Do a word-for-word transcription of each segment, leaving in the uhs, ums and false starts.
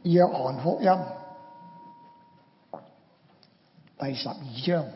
約翰福音第十二章，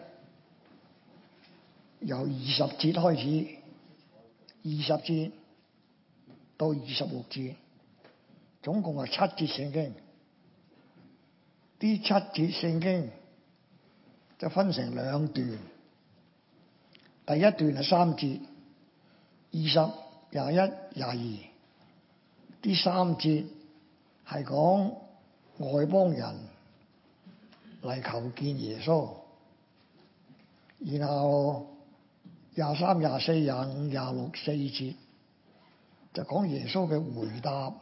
由二十節開始，二十節到二十六節，總共係七節聖經。呢七節聖經就分成兩段，第一段係三節，二十、廿一、廿二。呢三節係講外邦人嚟求見耶穌，然後廿三、廿四、廿五、廿六四節就講耶穌嘅回答。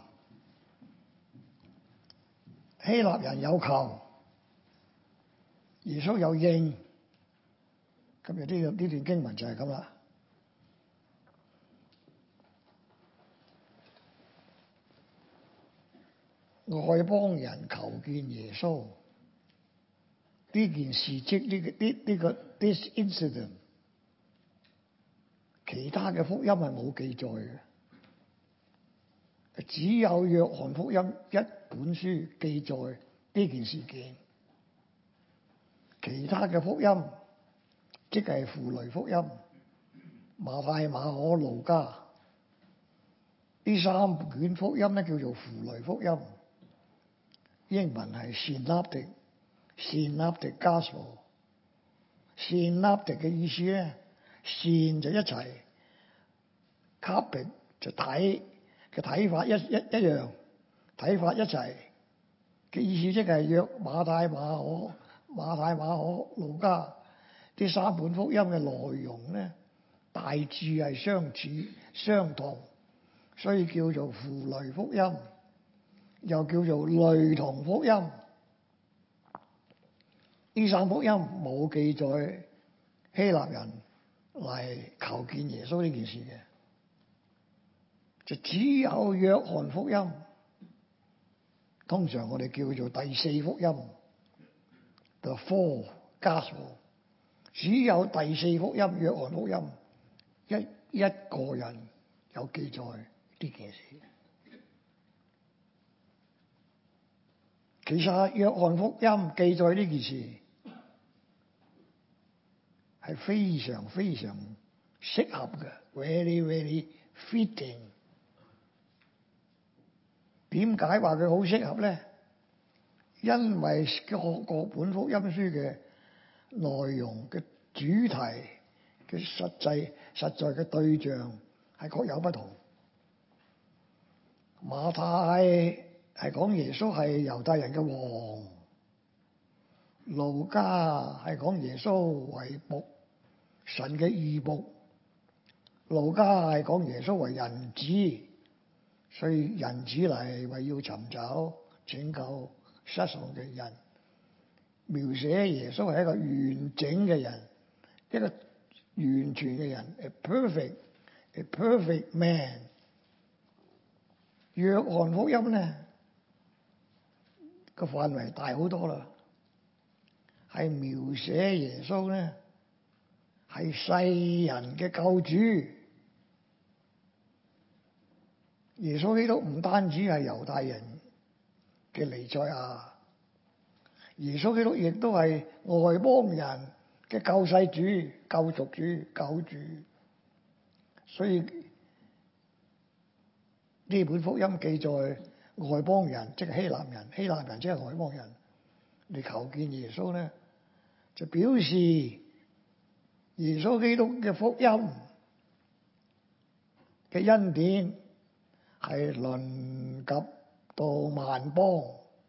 希臘人有求，耶穌有應。今日呢呢段經文就係咁啦。外邦人求見耶穌呢件事蹟，呢個呢呢個 this incident， 其他嘅福音係冇記載嘅，只有約翰福音一本書記載呢件事件。其他嘅福音，即係符類福音、馬太、馬可、路加，呢三卷福音咧叫做符類福音。英文係 synoptic synoptic gospel。synoptic 嘅意思咧，線就一齊 ，copy 就睇嘅睇法一一一樣，睇法一齊嘅意思，即係約馬太、馬可、馬太、馬可、路加呢三本福音嘅內容咧，大致係相似相同，所以叫做符類福音。又叫做類同福音。呢三福音冇記載希臘人嚟求見耶穌呢件事嘅，就只有約翰福音。通常我哋叫做第四福音 ，the fourth gospel。只有第四福音約翰福音一一個人有記載呢件事。其實約翰福音記載呢件事係非常非常適合嘅 ，very very fitting。點解話佢好適合咧？因為各各本福音書嘅內容嘅主題嘅實際實在嘅對象係各有不同。馬太係講耶穌係猶太人嘅王，路加係講耶穌為僕，神嘅義僕。路加係講耶穌為人子，所以人子嚟為要尋找拯救失喪嘅人，描寫耶穌係一個完整嘅人，一個完全嘅人 ，a perfect a perfect man。約翰福音咧，個範圍大好多啦，係描寫耶穌咧係世人嘅救主。耶穌基督唔單止係猶太人嘅彌賽亞，耶穌基督亦都係外邦人嘅救世主、救贖主、救主。所以呢本福音記載外邦人，即係希臘人，希臘人即係外邦人嚟求見耶穌咧，就表示耶穌基督嘅福音嘅恩典係臨及到萬邦。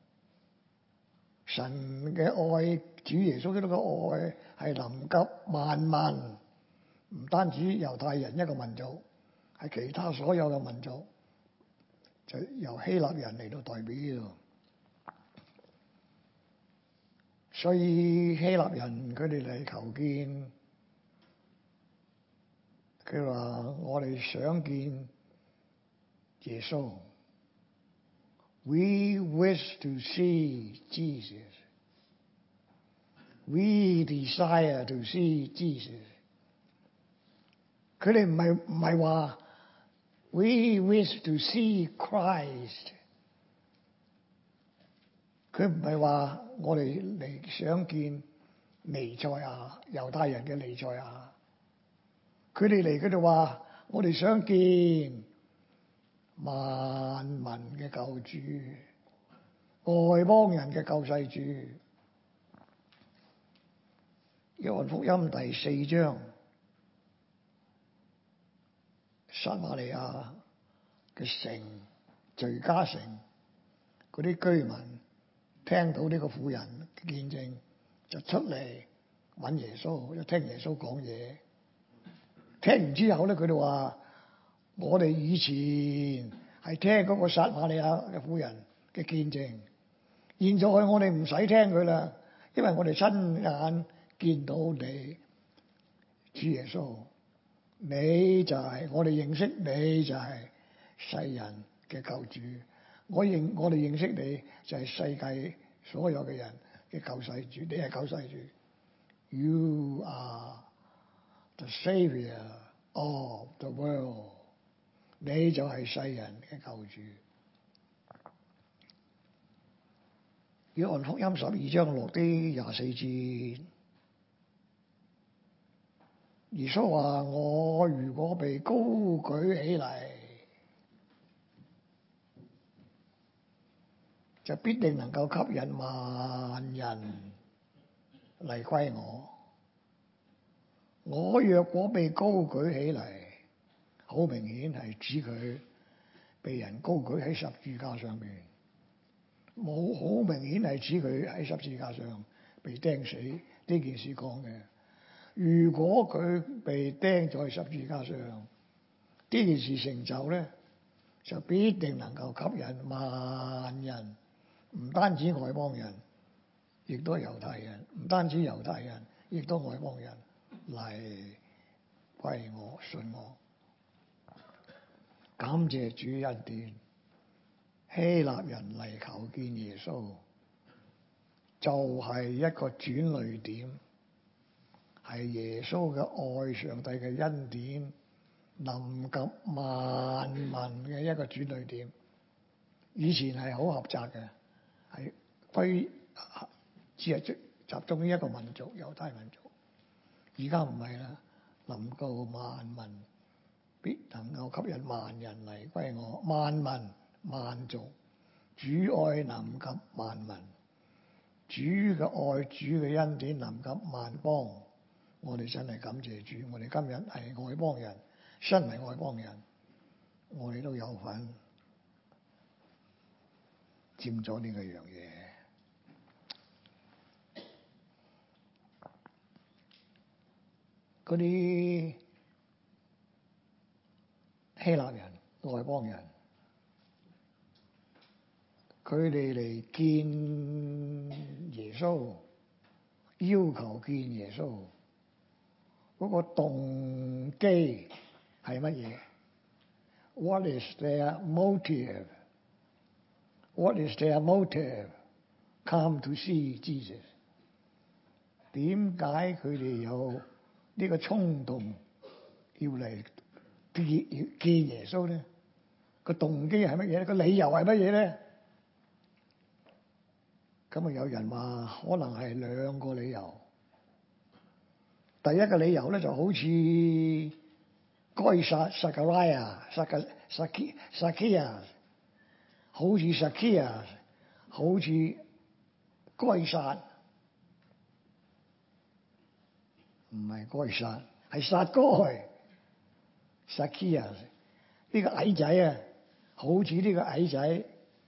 神嘅愛，主耶穌基督嘅愛係臨及萬民，唔單止猶太人一個民族，係其他所有嘅民族。就由希臘人嚟到代表呢度，所以希臘人佢哋嚟求見，佢話我哋想見耶穌。We wish to see Jesus. We desire to see Jesus. 佢哋唔係唔係話We wish to see Christ。 佢唔係話我哋嚟想見彌賽亞，猶太人嘅彌賽亞。佢哋嚟嗰度話，我哋想見萬民嘅救主，外邦人嘅救世主。約翰福音第四章，撒瑪利亞嘅城，敘加城嗰啲居民聽到呢個婦人嘅見證，就出嚟揾耶穌，一聽耶穌講嘢。聽完之後咧，佢哋話：我哋以前係聽嗰個撒瑪利亞嘅婦人嘅見證，現在我哋唔使聽佢啦，因為我哋親眼見到你，主耶穌，你就係、是、我哋認識你就係世人嘅救主。我認我哋認識你就係世界所有嘅人嘅救世主，你係救世主。You are the Savior of the world， 你就係世人嘅救主。約翰福音十二章六啲廿四節，耶穌話：我如果被高舉起嚟，就必定能夠吸引萬人嚟歸我。我若果被高舉起嚟，好明顯係指佢被人高舉喺十字架上面，冇好明顯係指佢喺十字架上被釘死呢件事講嘅。如果佢被釘在十字架上，呢件事成就咧，就必定能夠吸引萬人，唔單止外邦人，亦都係猶太人，唔單止猶太人，亦都外邦人嚟歸我、信我。感謝主恩典，希臘人嚟求見耶穌，就係、是、一個轉捩點，係耶穌嘅愛、上帝嘅恩典臨及萬民嘅一個轉捩點。以前係好狹窄嘅，係歸只係集中於一個民族，猶太民族。而家唔係啦，臨到萬民，必能夠吸引萬人嚟歸我。萬民萬族，主愛臨及萬民，主嘅愛、主嘅恩典臨及萬邦。我哋真係感謝主，我哋今日係外邦人，身為外邦人，我哋都有份佔咗呢個樣嘢。嗰啲希臘人、外邦人，佢哋嚟見耶穌，要求見耶穌，嗰個動機係乜嘢？ What is their motive? What is their motive? Come to see Jesus。點解佢哋有呢個衝動要嚟見見耶穌咧？個動機係乜嘢咧？個理由係乜嘢咧？咁啊，有人話可能係兩個理由。第一個理由咧，就好似該撒撒迦拉亞、撒迦撒基撒基亞，好似撒基亞，好似該撒，唔係該撒，係撒該。撒基亞呢個矮仔啊，好似呢個矮仔，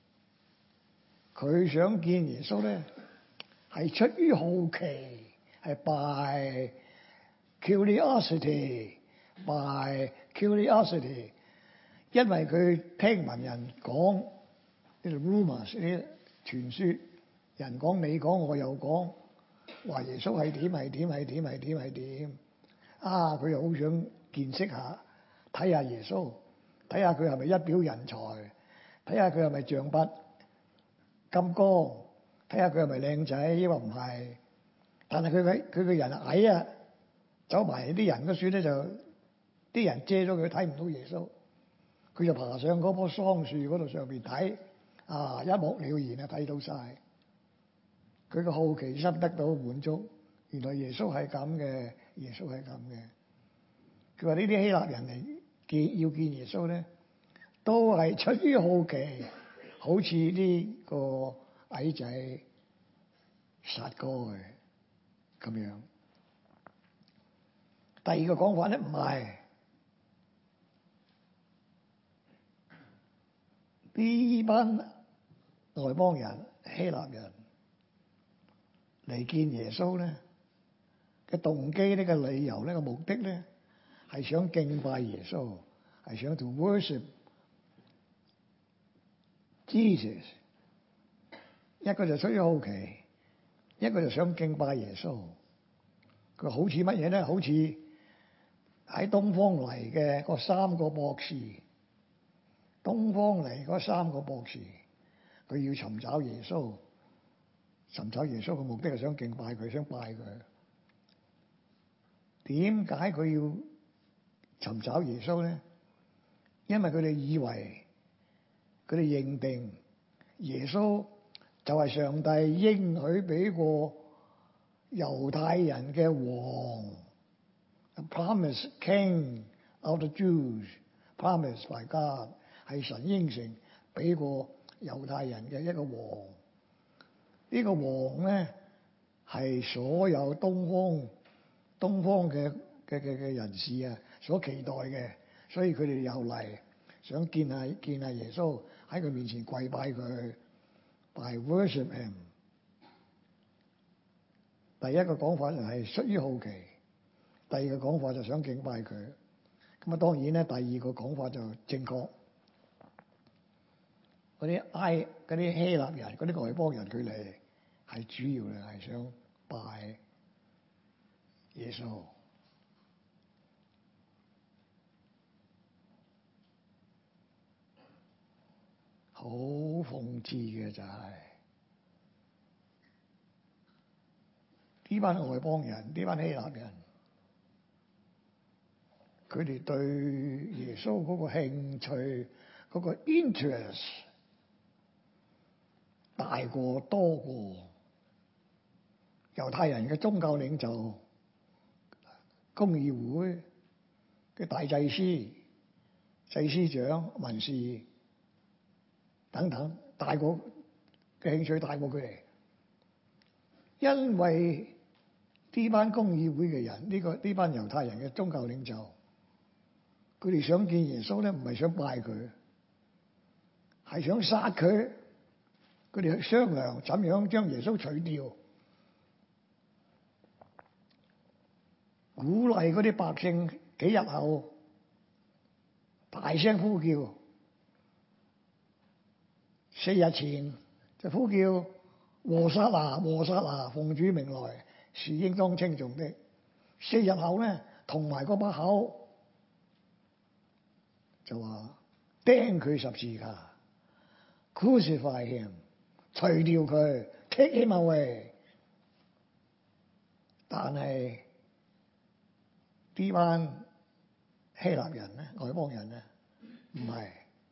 佢想見耶穌咧，係出於好奇，係 by curiosity by curiosity， 因為佢聽聞人講呢啲 rumors 呢啲傳說，人講你講我又講，話耶穌係點係點係點係點係點啊！佢又好想見識下，睇下耶穌，睇下佢係咪一表人才，睇下佢係咪象拔金剛，睇下佢係咪靚仔，抑或唔係？但係佢嘅佢嘅人矮啊，走埋啲人嘅樹咧，就啲人遮咗佢，睇唔到耶穌。佢就爬上嗰棵桑樹嗰度上邊睇，啊，一目了然啊，睇到晒。 佢嘅好奇心得到滿足。原來耶穌係咁嘅，耶穌係咁嘅。佢話呢啲希臘人嚟見要見耶穌咧，都係出於好奇，好似呢個矮仔撒該咁樣。第二個講法咧，唔係呢班外邦人希臘人嚟見耶穌咧嘅動機，呢個理由，呢個目的咧，係想敬拜耶穌，係想 to worship Jesus。一個就出於好奇，一個就想敬拜耶穌。佢好似乜嘢咧？好似喺東方嚟嘅嗰三個博士，東方嚟嗰三個博士，佢要尋找耶穌，尋找耶穌嘅目的係想敬拜佢，想拜佢。點解佢要尋找耶穌咧？因為佢哋以為，佢哋認定耶穌就係上帝應許俾過猶太人嘅王，a promised king of the Jews, promised by God， 係神應承俾過猶太人嘅一個王。呢個王咧係所有東方東方嘅嘅嘅嘅人士啊所期待嘅，所以佢哋又嚟想見下見下耶穌，喺佢面前跪拜佢，by worship him。第一個講法就係出於好奇，第二個講法就想敬拜佢。咁啊，當然咧，第二個講法就正確。嗰啲埃嗰啲希臘人，嗰啲外邦人，佢嚟係主要咧係想拜耶穌。好諷刺嘅就係、是、呢班外邦人，呢班希臘人，佢哋對耶穌嗰個興趣，嗰個 interest 大過多過猶太人嘅宗教領袖、公議會嘅大祭司、祭司長、文士等等，大過嘅興趣大過佢哋。因為呢班公議會嘅人，呢、這個呢班猶太人嘅宗教領袖，佢哋想見耶穌咧，唔係想拜佢，係想殺佢。佢哋去商量怎樣將耶穌除掉，鼓勵嗰啲百姓幾日後大聲呼叫，四日前就呼叫和散那，和散那，奉主名來，是應當稱頌的。四日後咧，同埋嗰把口就話釘佢十字架 ，crucify him， 除掉佢 ，take him away。但係呢班希臘人咧，外邦人咧，唔係。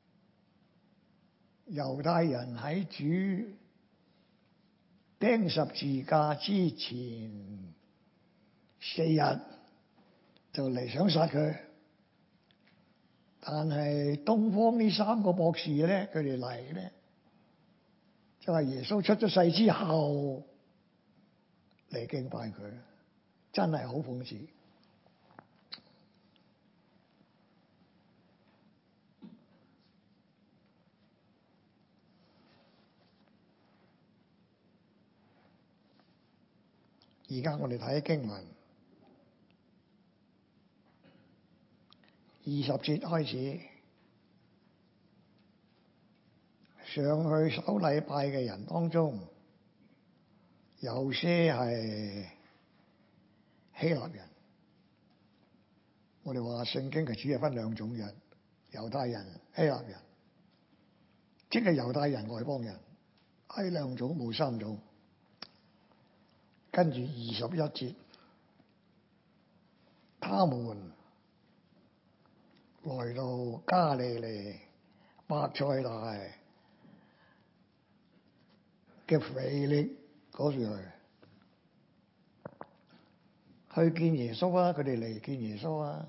猶太人喺主釘十字架之前四日就嚟想殺佢，但係東方呢三個博士咧，佢哋嚟咧就係耶穌出咗世之後嚟敬拜佢，真係好諷刺。而家我哋睇經文二十節開始，上去守禮拜嘅人當中，有些係希臘人。我哋話聖經嘅主係分兩種人，猶太人、希臘人，即係猶太人、外邦人，係兩種，冇三種。跟住二十一節，他們來到加利利伯賽大嘅腓力嗰時去見耶穌啊！佢哋嚟見耶穌啊！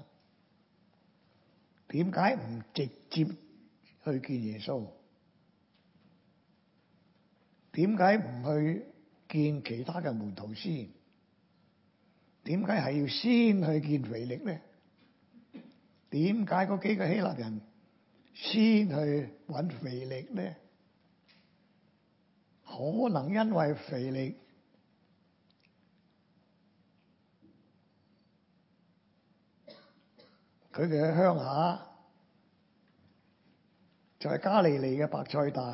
點解唔直接去見耶穌？點解唔去見其他嘅門徒先？點解係要先去見腓力咧？點解嗰幾個希臘人先去揾腓力咧？可能因為腓力佢嘅鄉下就係加利利嘅伯賽大，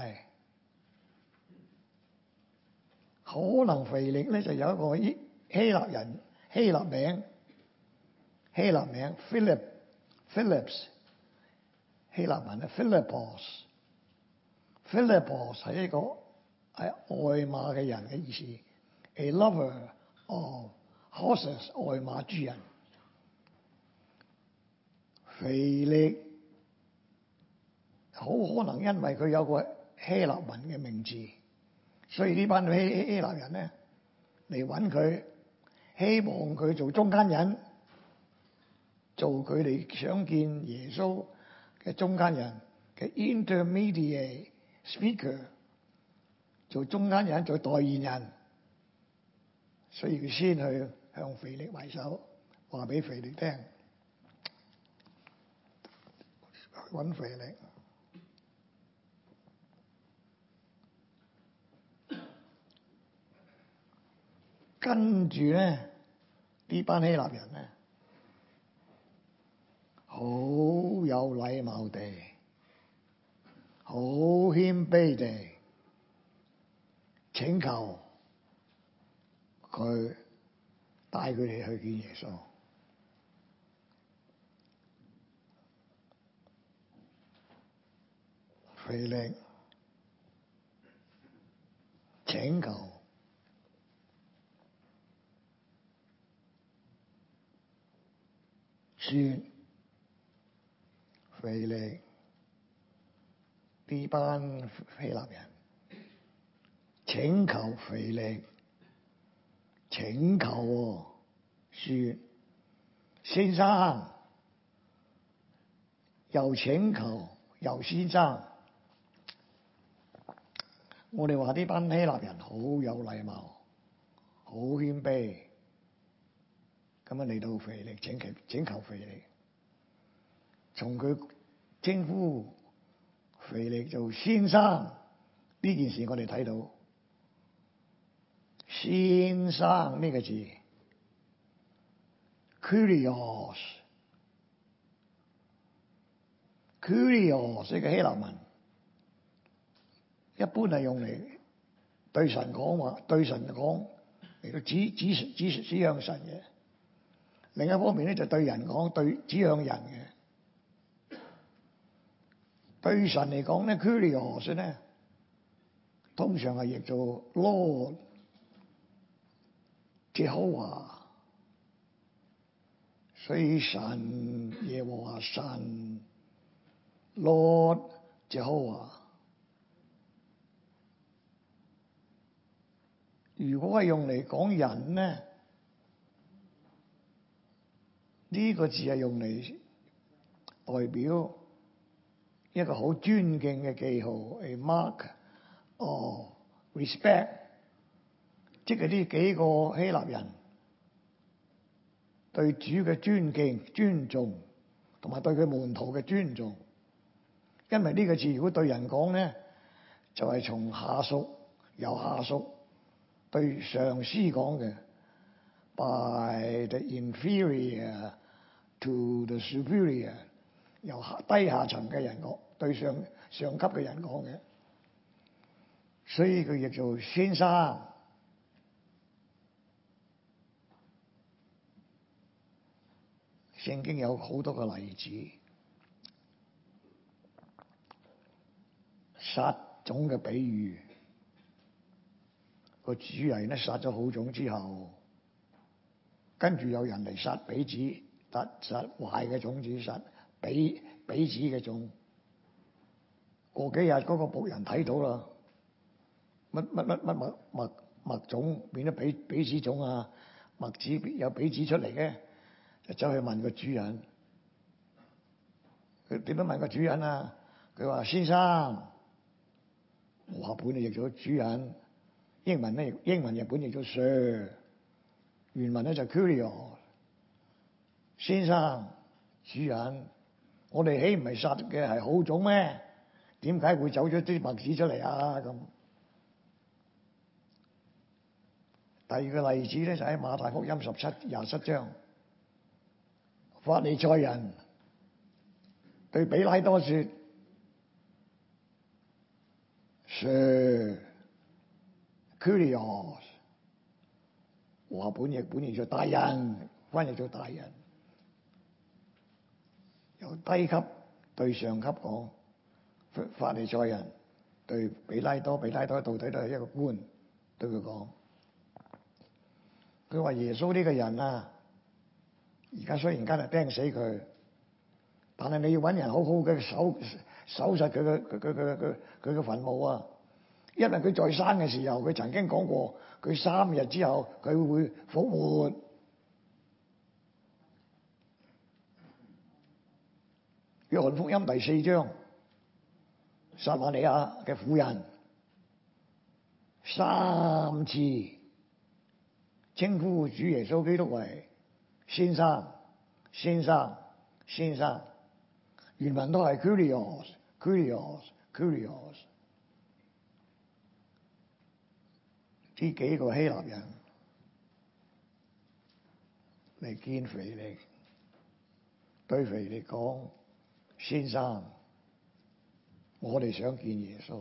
可能腓力咧就有一個希希臘人希臘名希臘名 Philip Phillips 希臘文啊 Philippos Philippos 係一個係愛馬嘅人嘅意思 ，a lover of horses 愛馬之人。腓力好可能因為佢有個希臘文嘅名字，所以呢班希希臘人咧嚟揾佢，希望佢做中間人，做佢哋想見耶穌嘅中間人嘅 intermediate speaker， 做中間人做代言人，所以佢先去向腓力揮手，話俾腓力聽。揾腓力，跟住咧呢班希臘人咧，好有禮貌地，好謙卑地請求佢帶佢哋去見耶穌。腓力請求說，腓力呢班希臘人請求腓力請求喎，說先生，又請求又先生。我哋話呢班希臘人好有禮貌，好謙卑，咁樣嚟到腓力請求請求腓力，從佢稱呼腓力做先生呢件事，我哋睇到先生呢個字 Kyrios Kyrios 呢個希臘文。一般係用嚟對神講話，對神講嚟到指指指指向神嘅。另一方面咧，就對人講，對指向人嘅。對神嚟講咧 Kyrios 咧，通常係譯做 Lord Jehovah， 所以神耶和華神 Lord Jehovah。如果係用嚟講人咧，呢個字係用嚟代表一個好尊敬嘅記號 ，a mark of respect， 即係呢幾個希臘人對主嘅尊敬、尊重，同埋對佢門徒嘅尊重。因為呢個字如果對人講咧，就係從下屬由下屬對上司講嘅 ，by the inferior to the superior， 由低下層嘅人講對上上級嘅人講嘅，所以佢亦做先生。聖經有好多個例子，撒種嘅比喻。個主人咧撒咗好種之後，跟住有人嚟撒彼子，撒撒壞嘅種子，撒彼彼子嘅種。過幾日嗰個僕人睇到啦，乜乜乜乜物物麥種變咗比比子種啊，麥子有比子出嚟嘅，就走去問個主人。佢點樣問個主人啊？佢話：先生，和合本就譯咗主人，英文咧英文日本譯咗 Sir， 原文咧就 Curious。先生，主人，我哋豈唔係撒嘅係好種咩？點解會走咗啲麥子出嚟啊？咁第二個例子咧就喺馬太福音十七廿七章，法利賽人對比拉多說：Sir, Curious。和合本譯本譯做大人，翻譯做大人。由低級對上級講，法利賽人對比拉多，比拉多到底都係一個官，對佢講，佢話耶穌呢個人啊，而家雖然間係釘死佢，但係你要揾人好好嘅守守實佢嘅佢佢佢佢佢嘅墳墓啊，因為佢在生嘅時候，佢曾經講過，佢三日之後佢會復活。約翰福音第四章，撒瑪利亞嘅婦人三次稱呼主耶穌基督為先生、先生、先生，原文都係 Curious、Curious、Curious。呢幾個希臘人嚟見腓力，對腓力講：先生，我哋想見耶穌。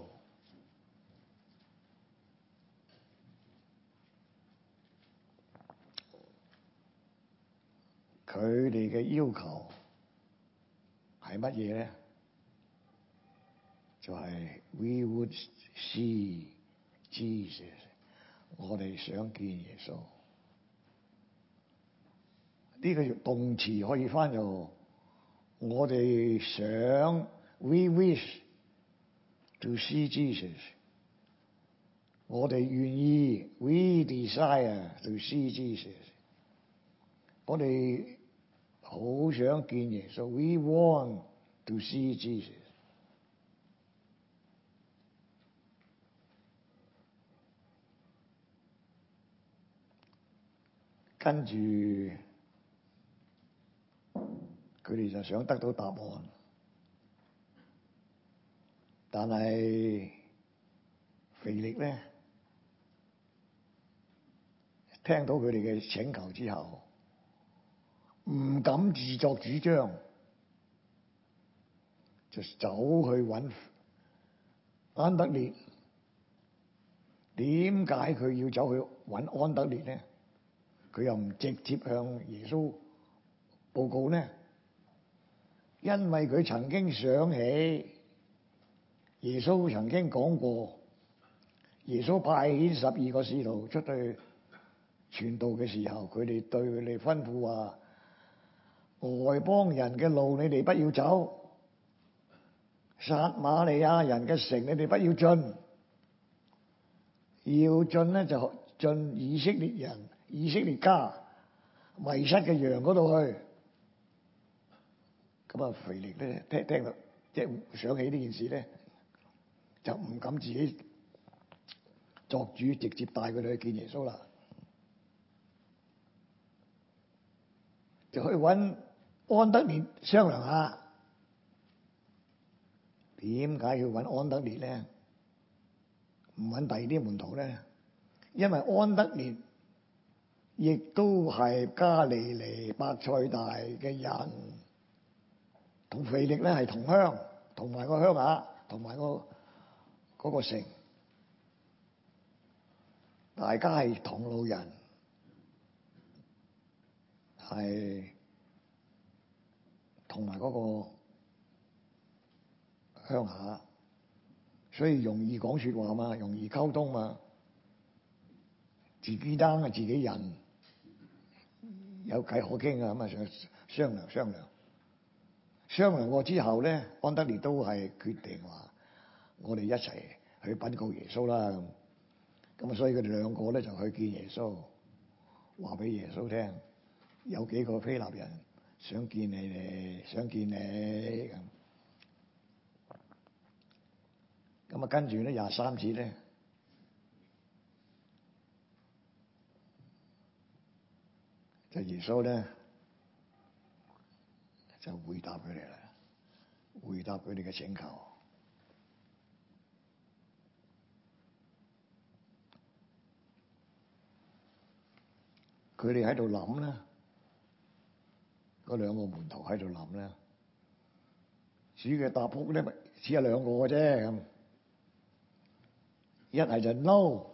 佢哋嘅要求係乜嘢咧？就係、是、We would see Jesus。我哋想見耶穌。呢、這個動詞可以翻做我哋想 We wish to see Jesus。我哋願意 We desire to see Jesus。我哋好想見耶穌 We want to see Jesus。跟住佢哋就想得到答案，但係腓力咧聽到佢哋嘅請求之後，唔敢自作主張，就走去揾安德烈。點解佢要走去揾安德烈咧？佢又唔直接向耶穌報告呢？因為佢曾經想起耶穌曾經講過，耶穌派遣十二個使徒出去傳道嘅時候，佢哋對佢哋吩咐話：外邦人嘅路你哋不要走，撒瑪利亞人嘅城你哋不要進，要進呢，就進以色列人、以色列家迷失嘅羊嗰度去。咁啊，腓力咧聽聽到即係想起呢件事咧，就唔敢自己作主，直接帶佢哋去見耶穌啦，就去揾安德烈商量下。點解要揾安德烈咧？唔揾第二啲門徒咧？因為安德烈亦都係加利利伯賽大嘅人，同腓力咧係同鄉，同埋個鄉下，同埋個嗰個城，大家係同路人，係同埋嗰個鄉下，所以容易講說話嘛，容易溝通嘛。自己爭係自己人，有偈可傾啊，咁啊想商量商量，商量過之後咧，安德烈都係決定話：我哋一齊去稟告耶穌啦。 咁啊，所以佢哋兩個咧就去見耶穌，話俾耶穌聽，有幾個希臘人想見你哋，想見你咁。咁啊，跟住咧廿三節咧，就耶穌咧就回答佢哋啦，回答佢哋嘅請求。佢哋喺度諗咧，嗰兩個門徒喺度諗咧，主嘅答覆咧只有兩個嘅啫咁，一係就 no，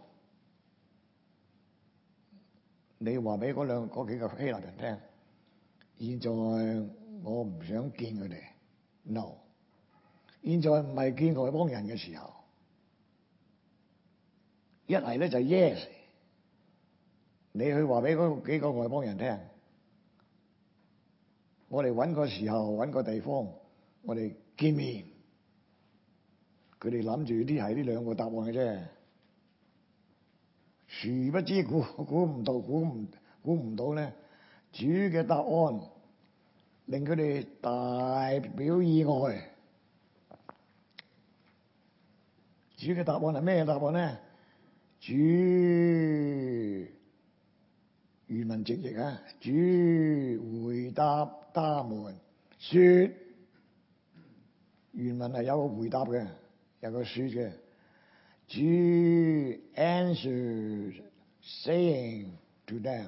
你話俾嗰兩嗰幾個希臘人聽，現在我唔想見佢哋 ，no， 現在唔係見外邦人嘅時候，一係咧就 yes。你去話俾嗰幾個外邦人聽，我哋揾個時候揾個地方，我哋見面。佢哋諗住啲係呢兩個答案嘅啫，殊不知估估唔到，估唔估唔到咧，主嘅答案令佢哋大表意外。主嘅答案係咩答案咧？主原文直譯啊，主回答他們說，原文係有個回答嘅，有個說嘅。主 answered saying to them，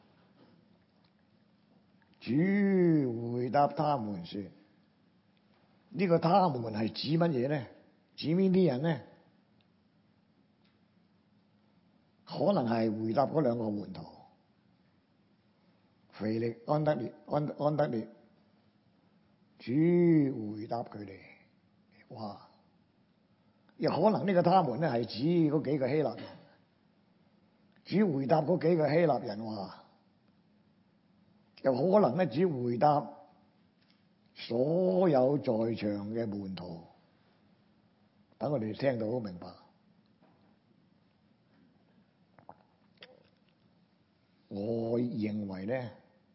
主回答他們說，呢個他們係指乜嘢咧？指邊啲人咧？可能係回答嗰兩個門徒。腓力、安德烈、安安德烈，主回答佢哋話，又可能呢個他們咧係指嗰幾個希臘人。主回答嗰幾個希臘人話，又可能咧主回答所有在場嘅門徒。等我哋聽到好明白。我認為咧，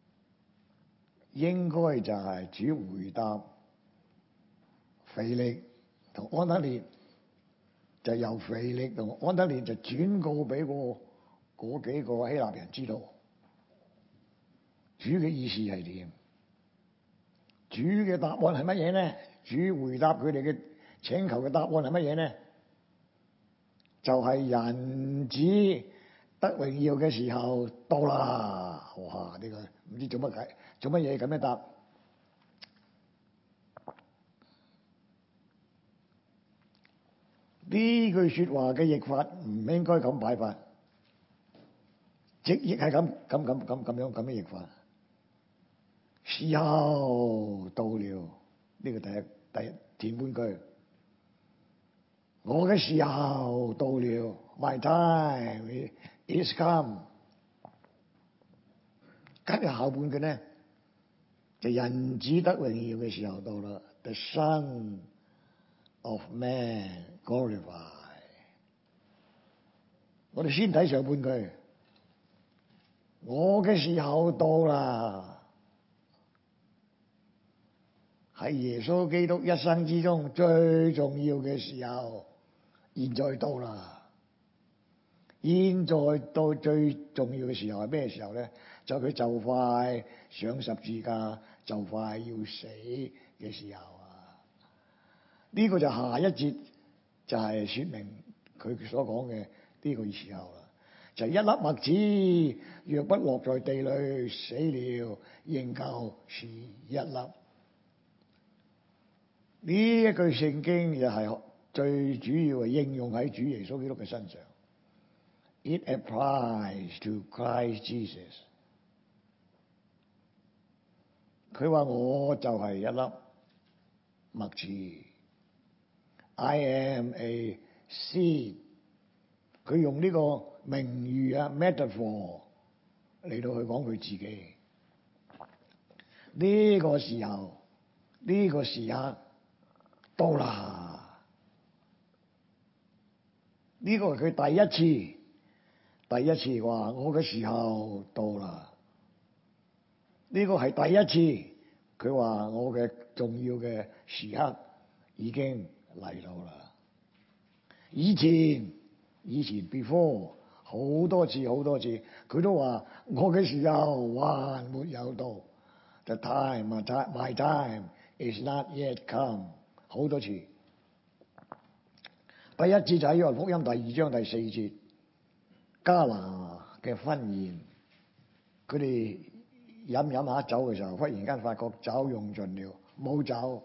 應該就係主回答腓力同安德烈，就由腓力同安德烈就轉告俾嗰嗰幾個希臘人知道，主嘅意思係點？主嘅答案係乜嘢咧？主回答佢哋嘅請求嘅答案係乜嘢咧？就係、是、人子得榮耀嘅時候到啦！哇！呢、這個唔知做乜解，做乜嘢咁樣答？呢句說話嘅譯法唔應該咁擺法，直譯係咁咁咁咁咁樣咁樣譯法。時候到了，呢個第一第一前半句，我嘅時候到了 ，My time is come。跟住後半句咧，就人子得榮耀嘅時候到啦 ，The Son of Man glorified。我哋先睇上半句，我嘅時候到啦，係耶穌基督一生之中最重要嘅時候，現在到啦。現在到最重要嘅時候係咩時候咧？就佢就快上十字架，就快要死嘅時候啊！呢、這個就下一節就係說明佢所講嘅呢個時候啦。就係、一粒麥子若不落在地裏死了，仍舊是一粒。呢一句聖經又係最主要係應用喺主耶穌基督嘅身上。It applies to Christ Jesus。佢話我就係一粒麥子 ，I am a seed。佢用呢個名喻啊 metaphor 嚟到去講佢自己。呢、這個時候，呢、這個時刻到啦。呢、這個係佢第一次第一次話我嘅時候到啦，呢個係第一次佢話我嘅重要嘅時刻已經嚟到啦。以前以前 before 好多次好多次佢都話我嘅時候還沒有到。The time, my time is not yet come。好多次。第一次就喺約翰福音第二章第四節，迦拿嘅婚宴，佢哋飲飲下酒嘅時候，忽然間發覺酒用盡了，冇酒，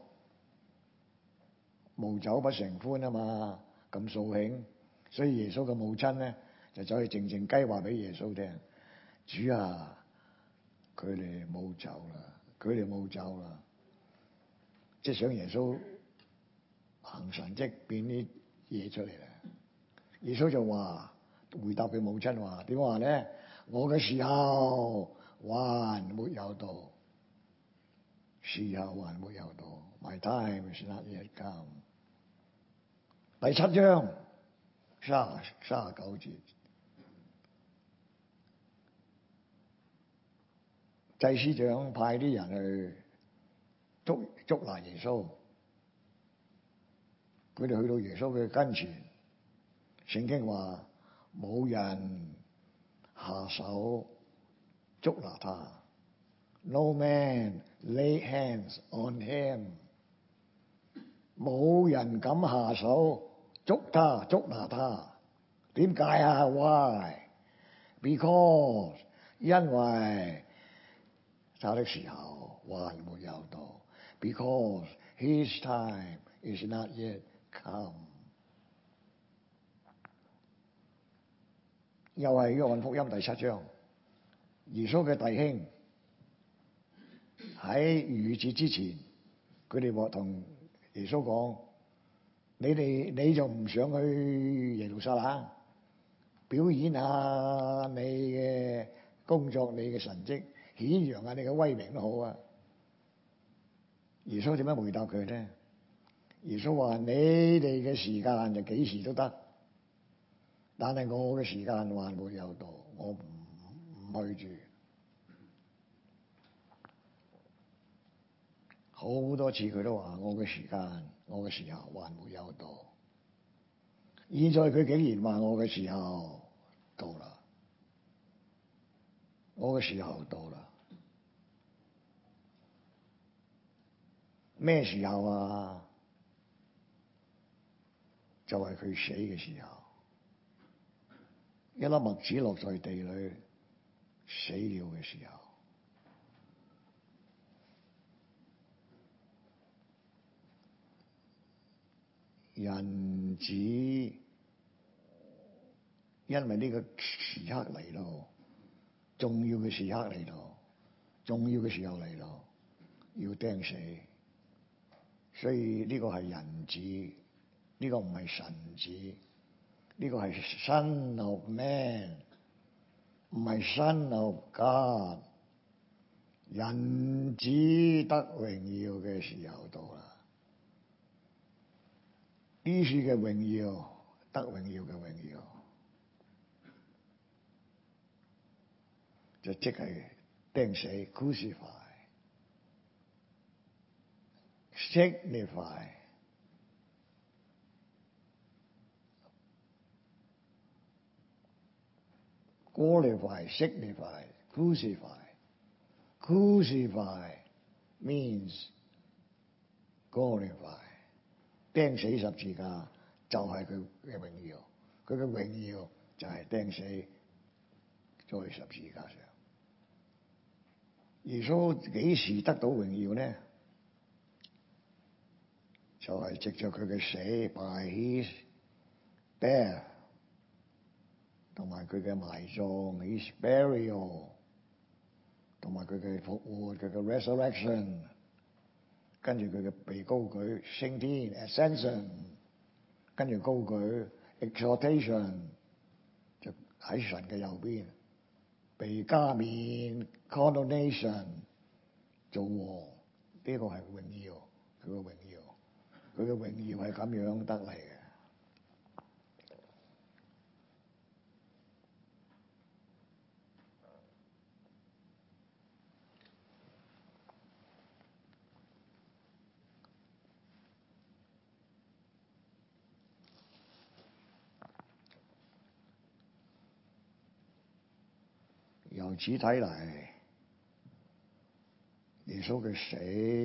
無酒不成歡啊嘛，咁掃興，所以耶穌嘅母親咧就走去靜靜雞話俾耶穌聽：主啊，佢哋冇酒啦，佢哋冇酒啦，即係想耶穌行神蹟變啲嘢出嚟啦。耶穌就話回答佢母親話點話咧？我嘅時候還沒有到，時候還沒有到。My time is not yet come。第七章三三十九節，祭司長派啲人去捉捉拿耶穌，佢哋去到耶穌嘅跟前，聖經話冇人下手捉拿他 ，No man lay hands on him， 冇人敢下手捉他捉拿他。點解啊 ？Why？ Because 因為他的時候還沒有到 ，Because his time is not yet come。又係約翰福音第七章，耶穌嘅弟兄喺逾越節之前，佢哋話同耶穌講：你哋你就唔想去耶路撒冷表演下你嘅工作、你嘅神蹟，顯揚下你嘅威名都好啊！耶穌點樣回答佢咧？耶穌話：你哋嘅時間就幾時都得，但係我嘅時間還沒有到，我唔唔去住。好多次佢都話：我嘅時間，我嘅時候還沒有到。現在佢竟然話：我嘅時候到啦，我嘅時候到啦。咩時候啊？就係佢死嘅時候，一粒麥子落在地裏死了嘅時候。人子因為呢個時刻嚟到，重要嘅時刻嚟到，重要嘅時候嚟到，要釘死，所以呢個係人子，呢個唔係神子，呢個係 Son of Man， 唔係 Son of God。人子得榮耀嘅時候到啦。呢處嘅榮耀，得榮耀嘅榮耀，就即係釘死 crucify signify glorify signify crucify crucify means glorify。釘死十字架就係佢嘅榮耀，佢嘅榮耀就係釘死在十字架上。耶穌幾時得到榮耀呢？就係藉着佢嘅死 ，by his death， 同埋佢嘅埋葬 ，his burial， 同埋佢嘅復活，佢嘅 resurrection。跟住佢嘅被高舉升天 ascension， 跟住高舉 exaltation， 就喺神嘅右邊被加冕 coronation 做王。呢個係榮耀，佢嘅榮耀，佢嘅榮耀係咁樣得嚟嘅。 由此睇嚟，耶穌嘅死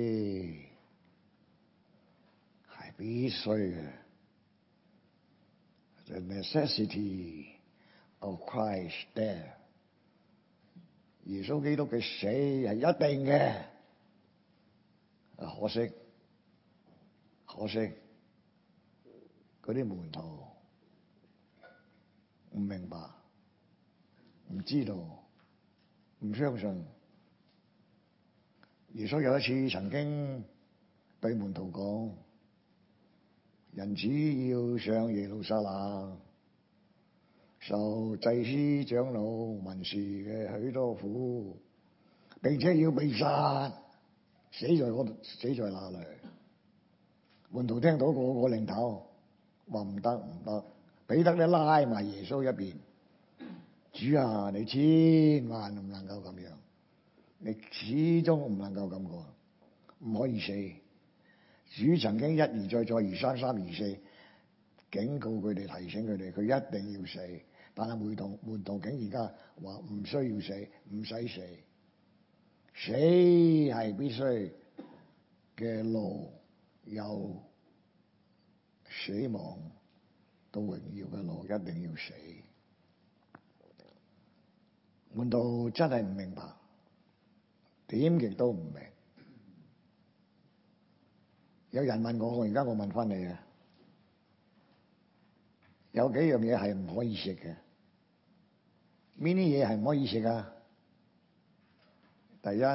係必須嘅。The necessity of Christ's death， 耶穌基督嘅死係一定嘅。可惜，可惜嗰啲門徒唔明白，唔知道，唔相信。耶穌有一次曾經對門徒講：人子要上耶路撒冷，受祭司長老文士嘅許多苦，並且要被殺，死在嗰度，死在那裏。門徒聽到個個擰頭，話唔得唔得。彼得咧拉埋耶穌一邊：主啊，你千萬唔能夠咁樣，你始終唔能夠咁講，唔可以死。主曾經一而再，再而三，三而四警告佢哋，提醒佢哋，佢一定要死。但係門徒門徒竟而家話唔需要死，唔使死。死係必須嘅路，由死亡到榮耀嘅路，一定要死。門徒真係唔明白，點極都唔明。有人問我，我而家我問翻你啊，有幾樣嘢係唔可以食嘅？邊啲嘢係唔可以食啊？第一，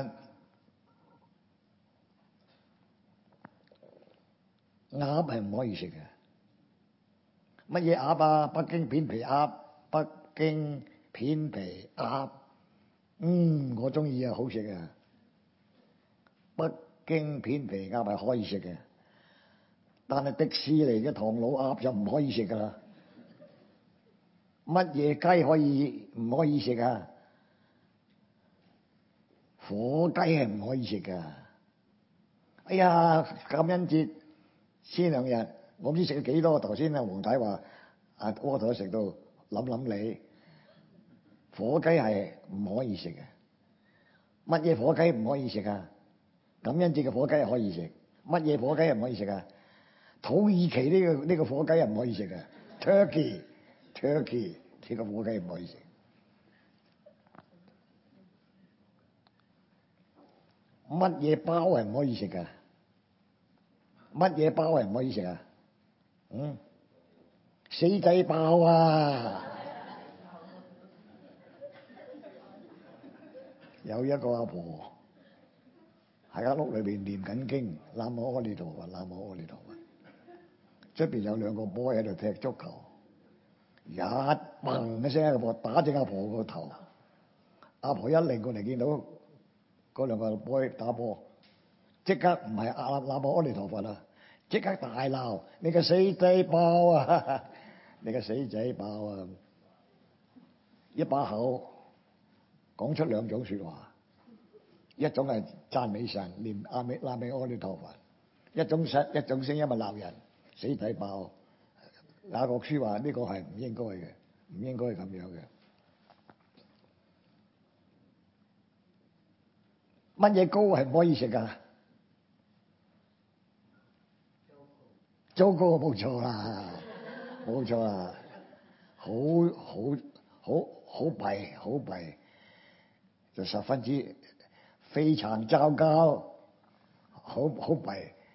鴨係唔可以食嘅。乜嘢鴨啊？北京片皮鴨，北京片皮鴨，嗯，我中意啊，好食啊！北京片皮鴨係可以食嘅，但係迪士尼嘅唐老鴨就唔可以食噶啦。乜嘢雞可以唔可以食啊？火雞係唔可以食噶。哎呀，感恩節先兩日，我唔知食咗幾多。頭先阿黃太話啊，屙頭食到諗諗你，火雞係唔可以食嘅。乜嘢火雞唔可以食啊？感恩節嘅火雞係可以食。乜嘢火雞係唔可以食啊？土耳其呢個呢個火雞係唔可以食嘅。Turkey Turkey 呢個火雞唔可以食。乜嘢包係唔可以食噶？乜嘢包係唔可以食啊？嗯，死仔包啊！有一個阿婆喺間屋裏邊念緊經，南無阿彌陀佛，南無阿彌陀佛。出邊有兩個 boy 喺度踢足球，一砰一聲，阿婆打正阿婆個頭。阿婆一擰過嚟見到嗰兩個 boy 打波，即刻唔係阿南無阿彌陀佛啦，即刻大鬧：你個死仔包啊！你個死仔包啊！一把口講出兩種說話，一種係讚美神，念阿彌南無阿彌陀佛；一種聲一種聲音咪鬧人，死仔包。雅各書話呢個係唔應該嘅，唔應該咁樣嘅。乜嘢糕係唔可以食噶？糟糕，冇錯啦，冇錯啦，好好好好弊，好弊，就十分之非常糟糕，好好弊。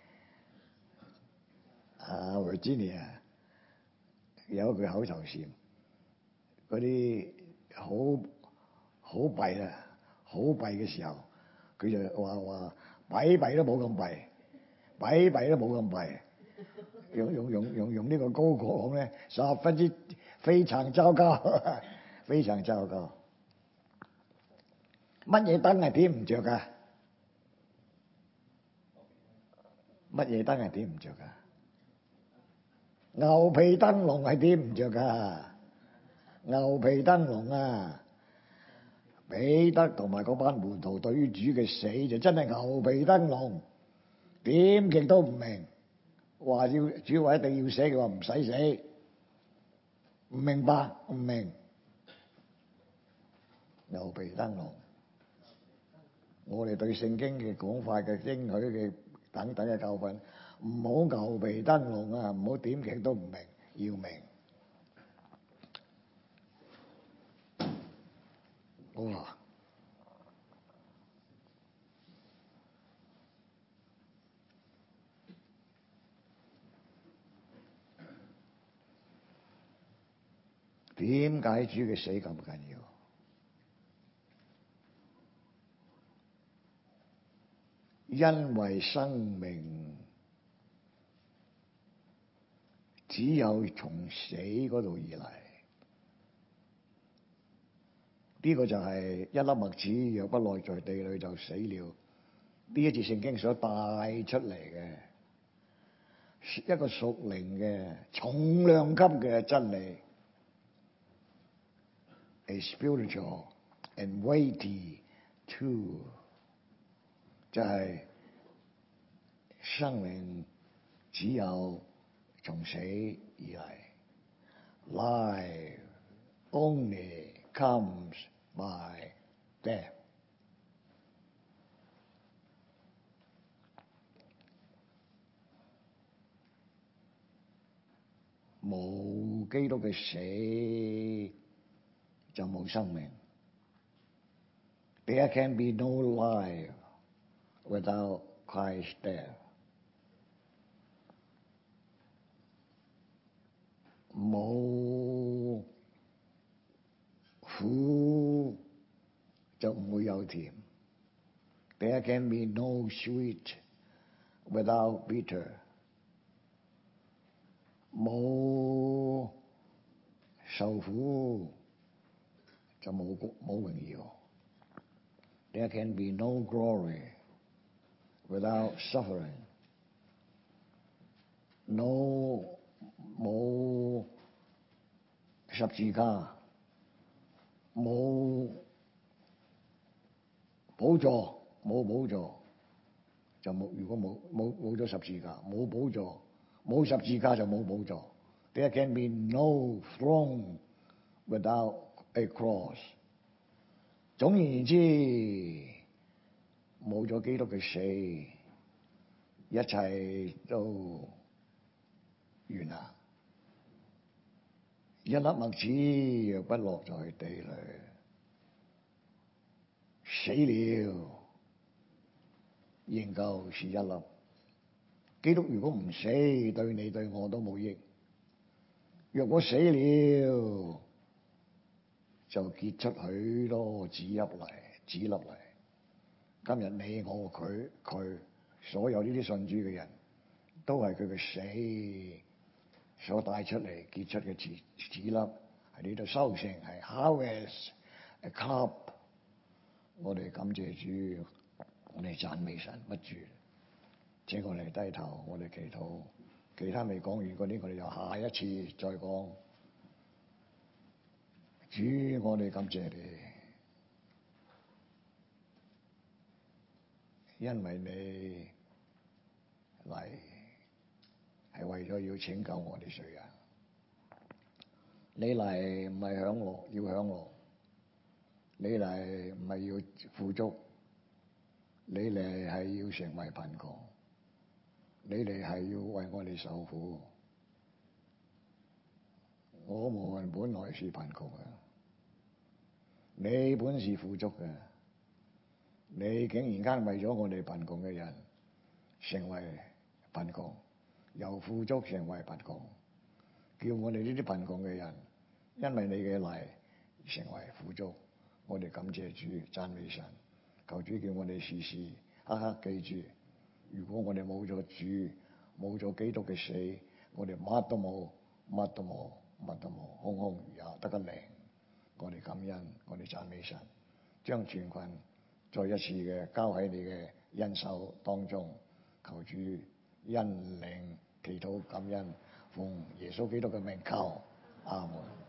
啊 Virginia 有一句口頭禪，嗰啲好好弊啊，好弊嘅時候，佢就話話弊弊都冇咁弊，弊弊都冇咁弊。用用用用用呢個高講咧，十分之非常糟糕，非常糟糕。乜嘢燈係點唔着噶？乜嘢燈係點唔着噶？牛皮燈籠係點唔着噶？牛皮燈籠啊！彼得同埋嗰班門徒對於主嘅死就真係牛皮燈籠，點極都唔明。話要主話一定要死，佢話唔使死，唔明白唔明。 牛皮燈籠。我哋對聖經嘅講法嘅應許嘅等等嘅教訓，唔好牛皮燈籠啊！唔好點極都唔明，要明。哇！點解主嘅死咁緊要？因為生命只有從死嗰度而嚟，呢個就係一粒麥子若不落在地裏就死了。呢一節聖經所帶出嚟嘅一個屬靈嘅重量級嘅真理 ，a spiritual and weighty truth， 就係生命只有從死而嚟 ，life only comes by death。冇基督嘅死就冇生命。There can be no life without Christ's death。冇苦就唔會有甜。There can be no sweet without bitter。冇受苦就冇冇榮耀。There can be no glory without suffering。No 冇十字架，冇寶座，冇寶座就冇。如果冇冇冇咗十字架，冇寶座。冇十字架就冇寶座。There can be no throne without a cross。總而言之，冇咗基督嘅死，一切都完啦。一粒麥子若不落在地裏，死了，仍舊是一粒。基督如果唔死，對你對我都冇益。若果死了，就結出許多子粒嚟，子粒嚟。今日你我佢佢所有呢啲信主嘅人，都係佢嘅死所帶出嚟結出嘅子子粒，喺呢度收成係 harvest a crop。我哋感謝主，我哋讚美神不住。請我哋低頭，我哋祈禱。其他未講完嗰啲，我哋又下一次再講。主，我哋感謝你，因為你嚟係為咗要拯救我哋罪人。你嚟唔係享樂，要享樂；你嚟唔係要富足，你嚟係要成為貧窮。你哋係要為我哋受苦。我們本來是貧窮嘅，你本是富足嘅，你竟然間為咗我哋貧窮嘅人成為貧窮，由富足成為貧窮，叫我哋呢啲貧窮嘅人因為你嘅嚟成為富足。我哋感謝主，讚美神，求主叫我哋時時刻刻記住。如果我哋冇咗主，冇咗基督嘅死，我哋乜都冇，乜都冇，乜都冇，空空如也，得個零。我哋感恩，我哋讚美神，將全群再一次嘅交喺你嘅恩手當中，求主恩領祈禱感恩，奉耶穌基督嘅名求，阿門。